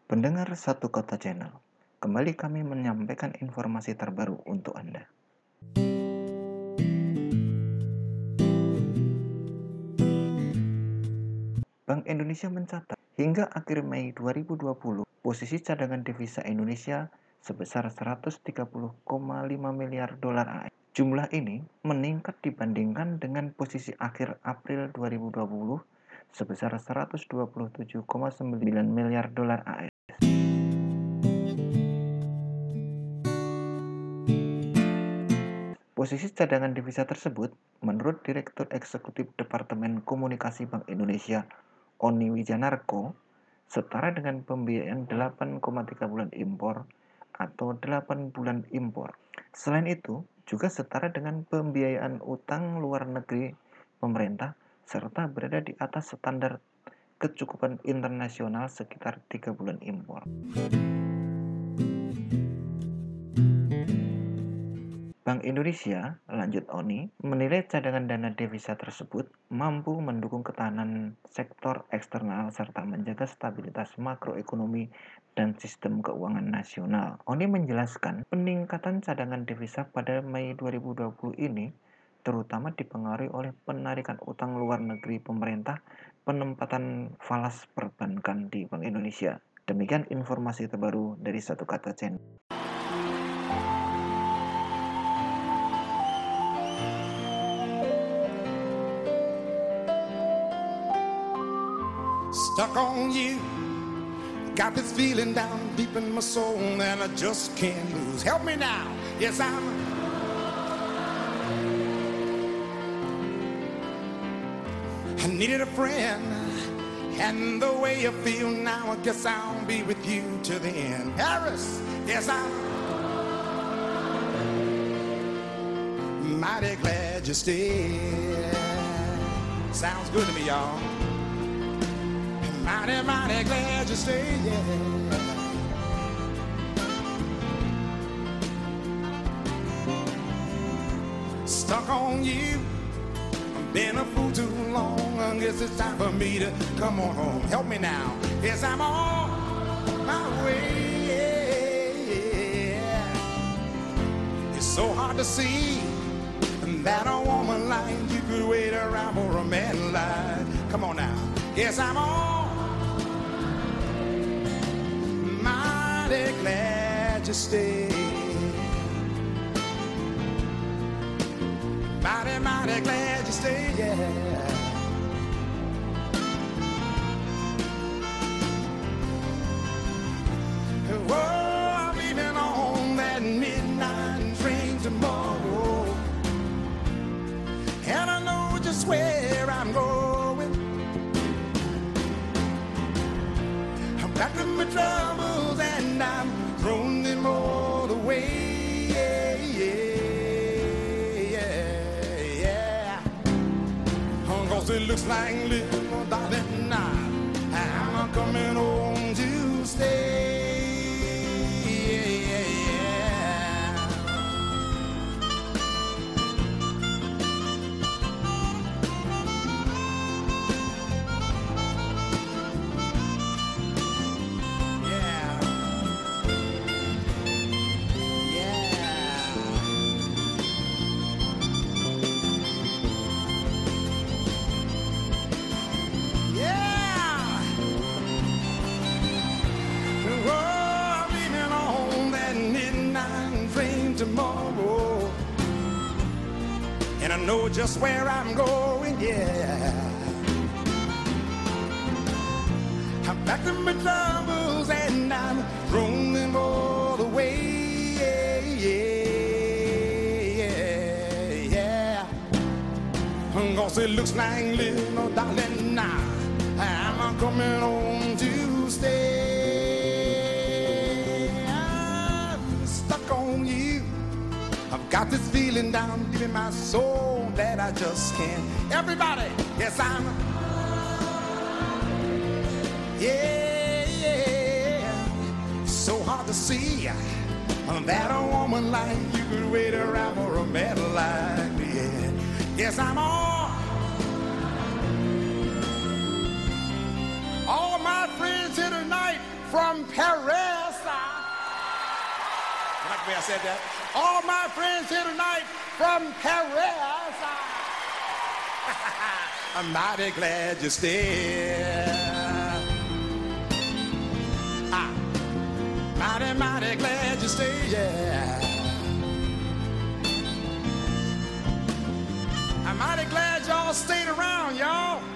Pendengar Satu Kota Channel, kembali kami menyampaikan informasi terbaru untuk Anda. Bank Indonesia mencatat, hingga akhir Mei 2020, posisi cadangan devisa Indonesia sebesar 130,5 miliar dolar AS. Jumlah ini meningkat dibandingkan dengan posisi akhir April 2020 sebesar 127,9 miliar dolar AS. Posisi cadangan devisa tersebut, menurut Direktur Eksekutif Departemen Komunikasi Bank Indonesia, Oni Wijanarko, setara dengan pembiayaan 8,3 bulan impor atau 8 bulan impor. Selain itu, juga setara dengan pembiayaan utang luar negeri pemerintah serta berada di atas standar kecukupan internasional sekitar 3 bulan impor. Bank Indonesia, lanjut Oni, menilai cadangan dana devisa tersebut mampu mendukung ketahanan sektor eksternal serta menjaga stabilitas makroekonomi dan sistem keuangan nasional. Oni menjelaskan, peningkatan cadangan devisa pada Mei 2020 ini terutama dipengaruhi oleh penarikan utang luar negeri pemerintah, penempatan falas perbankan di Bank Indonesia. Demikian informasi terbaru dari Satu Kata Channel. Stuck on you, got this feeling down deep in my soul that I just can't lose. Help me now, yes I needed a friend, and the way I feel now, I guess I'll be with you to the end. Harris, yes I'm mighty glad you stayed. Sounds good to me, y'all. Mighty, mighty glad you stayed, yeah. Stuck on you, I've been a fool too long. I guess it's time for me to come on home. Help me now, yes I'm on my way. It's so hard to see that a woman like you could wait around for a man like. Come on now, yes I'm on. Mighty glad you stayed. Mighty, mighty glad you stayed, yeah. Oh, I'm leaving on that midnight train tomorrow, and I know just where I'm going. I'm back to my troubles and I'm throwing them all away. Yeah, yeah, yeah. 'Cause it looks like little darling, I'm coming home to stay. Yeah, yeah. Tomorrow, and I know just where I'm going, yeah. I'm back to my troubles and I'm throwing them all away, yeah, yeah, yeah. 'Cause it looks like little darling now, I'm coming home to stay. I've got this feeling down deep in my soul that I just can't. Everybody, yes I'm. Yeah, yeah. So hard to see that a woman like you could wait around for a man like me. Yeah. Yes I'm on. All my friends here tonight from Paris. You like the way I said that? All my friends here tonight from Paris. I'm mighty glad you stayed. Mighty, mighty glad you stayed, yeah. I'm mighty glad y'all stayed around, y'all.